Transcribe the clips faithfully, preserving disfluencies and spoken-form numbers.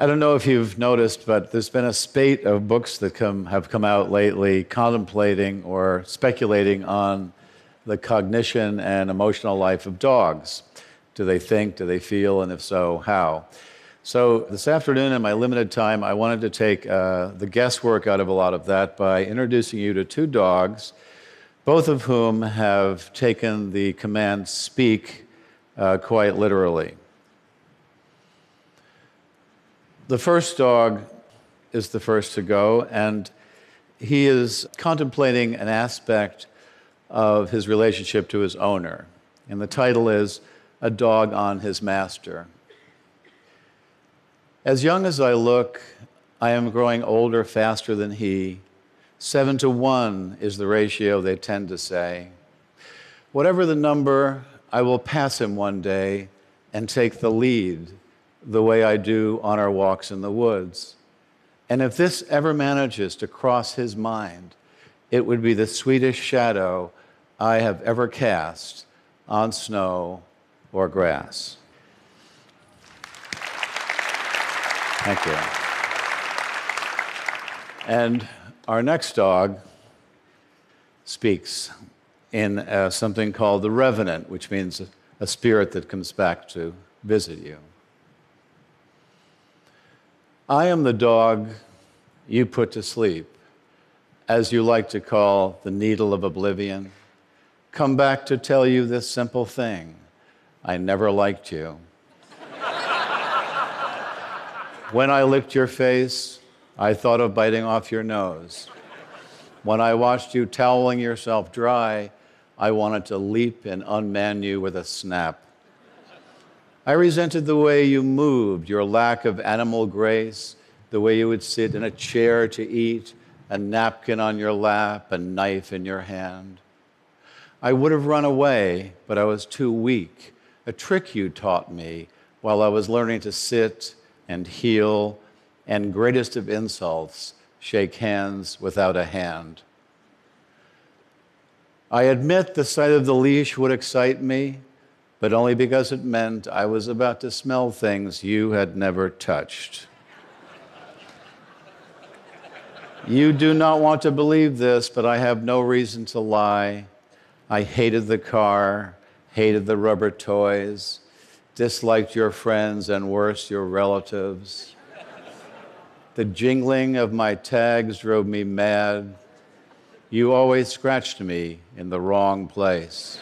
I don't know if you've noticed, but there's been a spate of books that come, have come out lately contemplating or speculating on the cognition and emotional life of dogs. Do they think? Do they feel? And if so, how? So this afternoon, in my limited time, I wanted to take uh, the guesswork out of a lot of that by introducing you to two dogs, both of whom have taken the command speak uh, quite literally. The first dog is the first to go, and he is contemplating an aspect of his relationship to his owner. And the title is A Dog on His Master. As young as I look, I am growing older faster than he. Seven to one is the ratio they tend to say. Whatever the number, I will pass him one day and take the lead, the way I do on our walks in the woods. And if this ever manages to cross his mind, it would be the sweetest shadow I have ever cast on snow or grass. Thank you. And our next dog speaks in uh, something called the revenant, which means a spirit that comes back to visit you. I am the dog you put to sleep, as you like to call the needle of oblivion. Come back to tell you this simple thing: I never liked you. When I licked your face, I thought of biting off your nose. When I watched you toweling yourself dry, I wanted to leap and unman you with a snap. I resented the way you moved, your lack of animal grace, the way you would sit in a chair to eat, a napkin on your lap, a knife in your hand. I would have run away, but I was too weak, a trick you taught me while I was learning to sit and heel, and greatest of insults, shake hands without a hand. I admit the sight of the leash would excite me, but only because it meant I was about to smell things you had never touched. You do not want to believe this, but I have no reason to lie. I hated the car, hated the rubber toys, disliked your friends, and worse, your relatives. The jingling of my tags drove me mad. You always scratched me in the wrong place.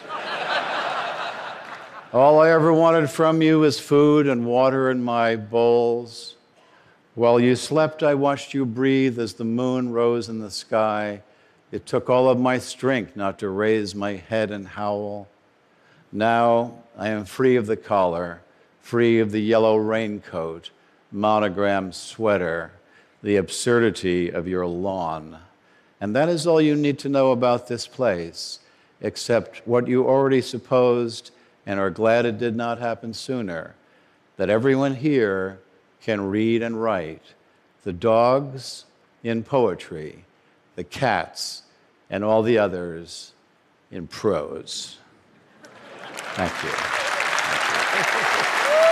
All I ever wanted from you was food and water in my bowls. While you slept, I watched you breathe as the moon rose in the sky. It took all of my strength not to raise my head and howl. Now I am free of the collar, free of the yellow raincoat, monogrammed sweater, the absurdity of your lawn. And that is all you need to know about this place, except what you already supposed and are glad it did not happen sooner, that everyone here can read and write, the dogs in poetry, the cats and all the others in prose. Thank you. Thank you.